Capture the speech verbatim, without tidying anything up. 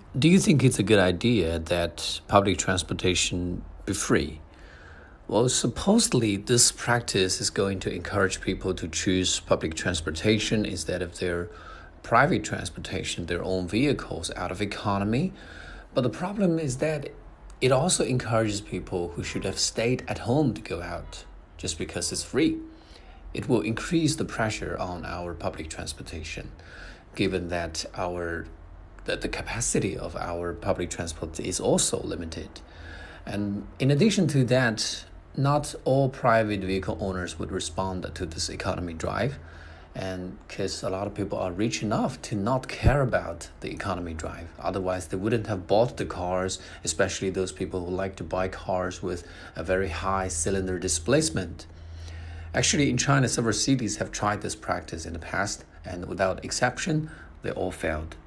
Do you think it's a good idea that public transportation be free? Well, supposedly this practice is going to encourage people to choose public transportation instead of their private transportation, their own vehicles, out of economy. But the problem is that it also encourages people who should have stayed at home to go out just because it's free. It will increase the pressure on our public transportation, given that our that the capacity of our public transport is also limited. And in addition to that, not all private vehicle owners would respond to this economy drive, and because a lot of people are rich enough to not care about the economy drive. Otherwise, they wouldn't have bought the cars, especially those people who like to buy cars with a very high cylinder displacement. Actually, in China, several cities have tried this practice in the past, and without exception, they all failed.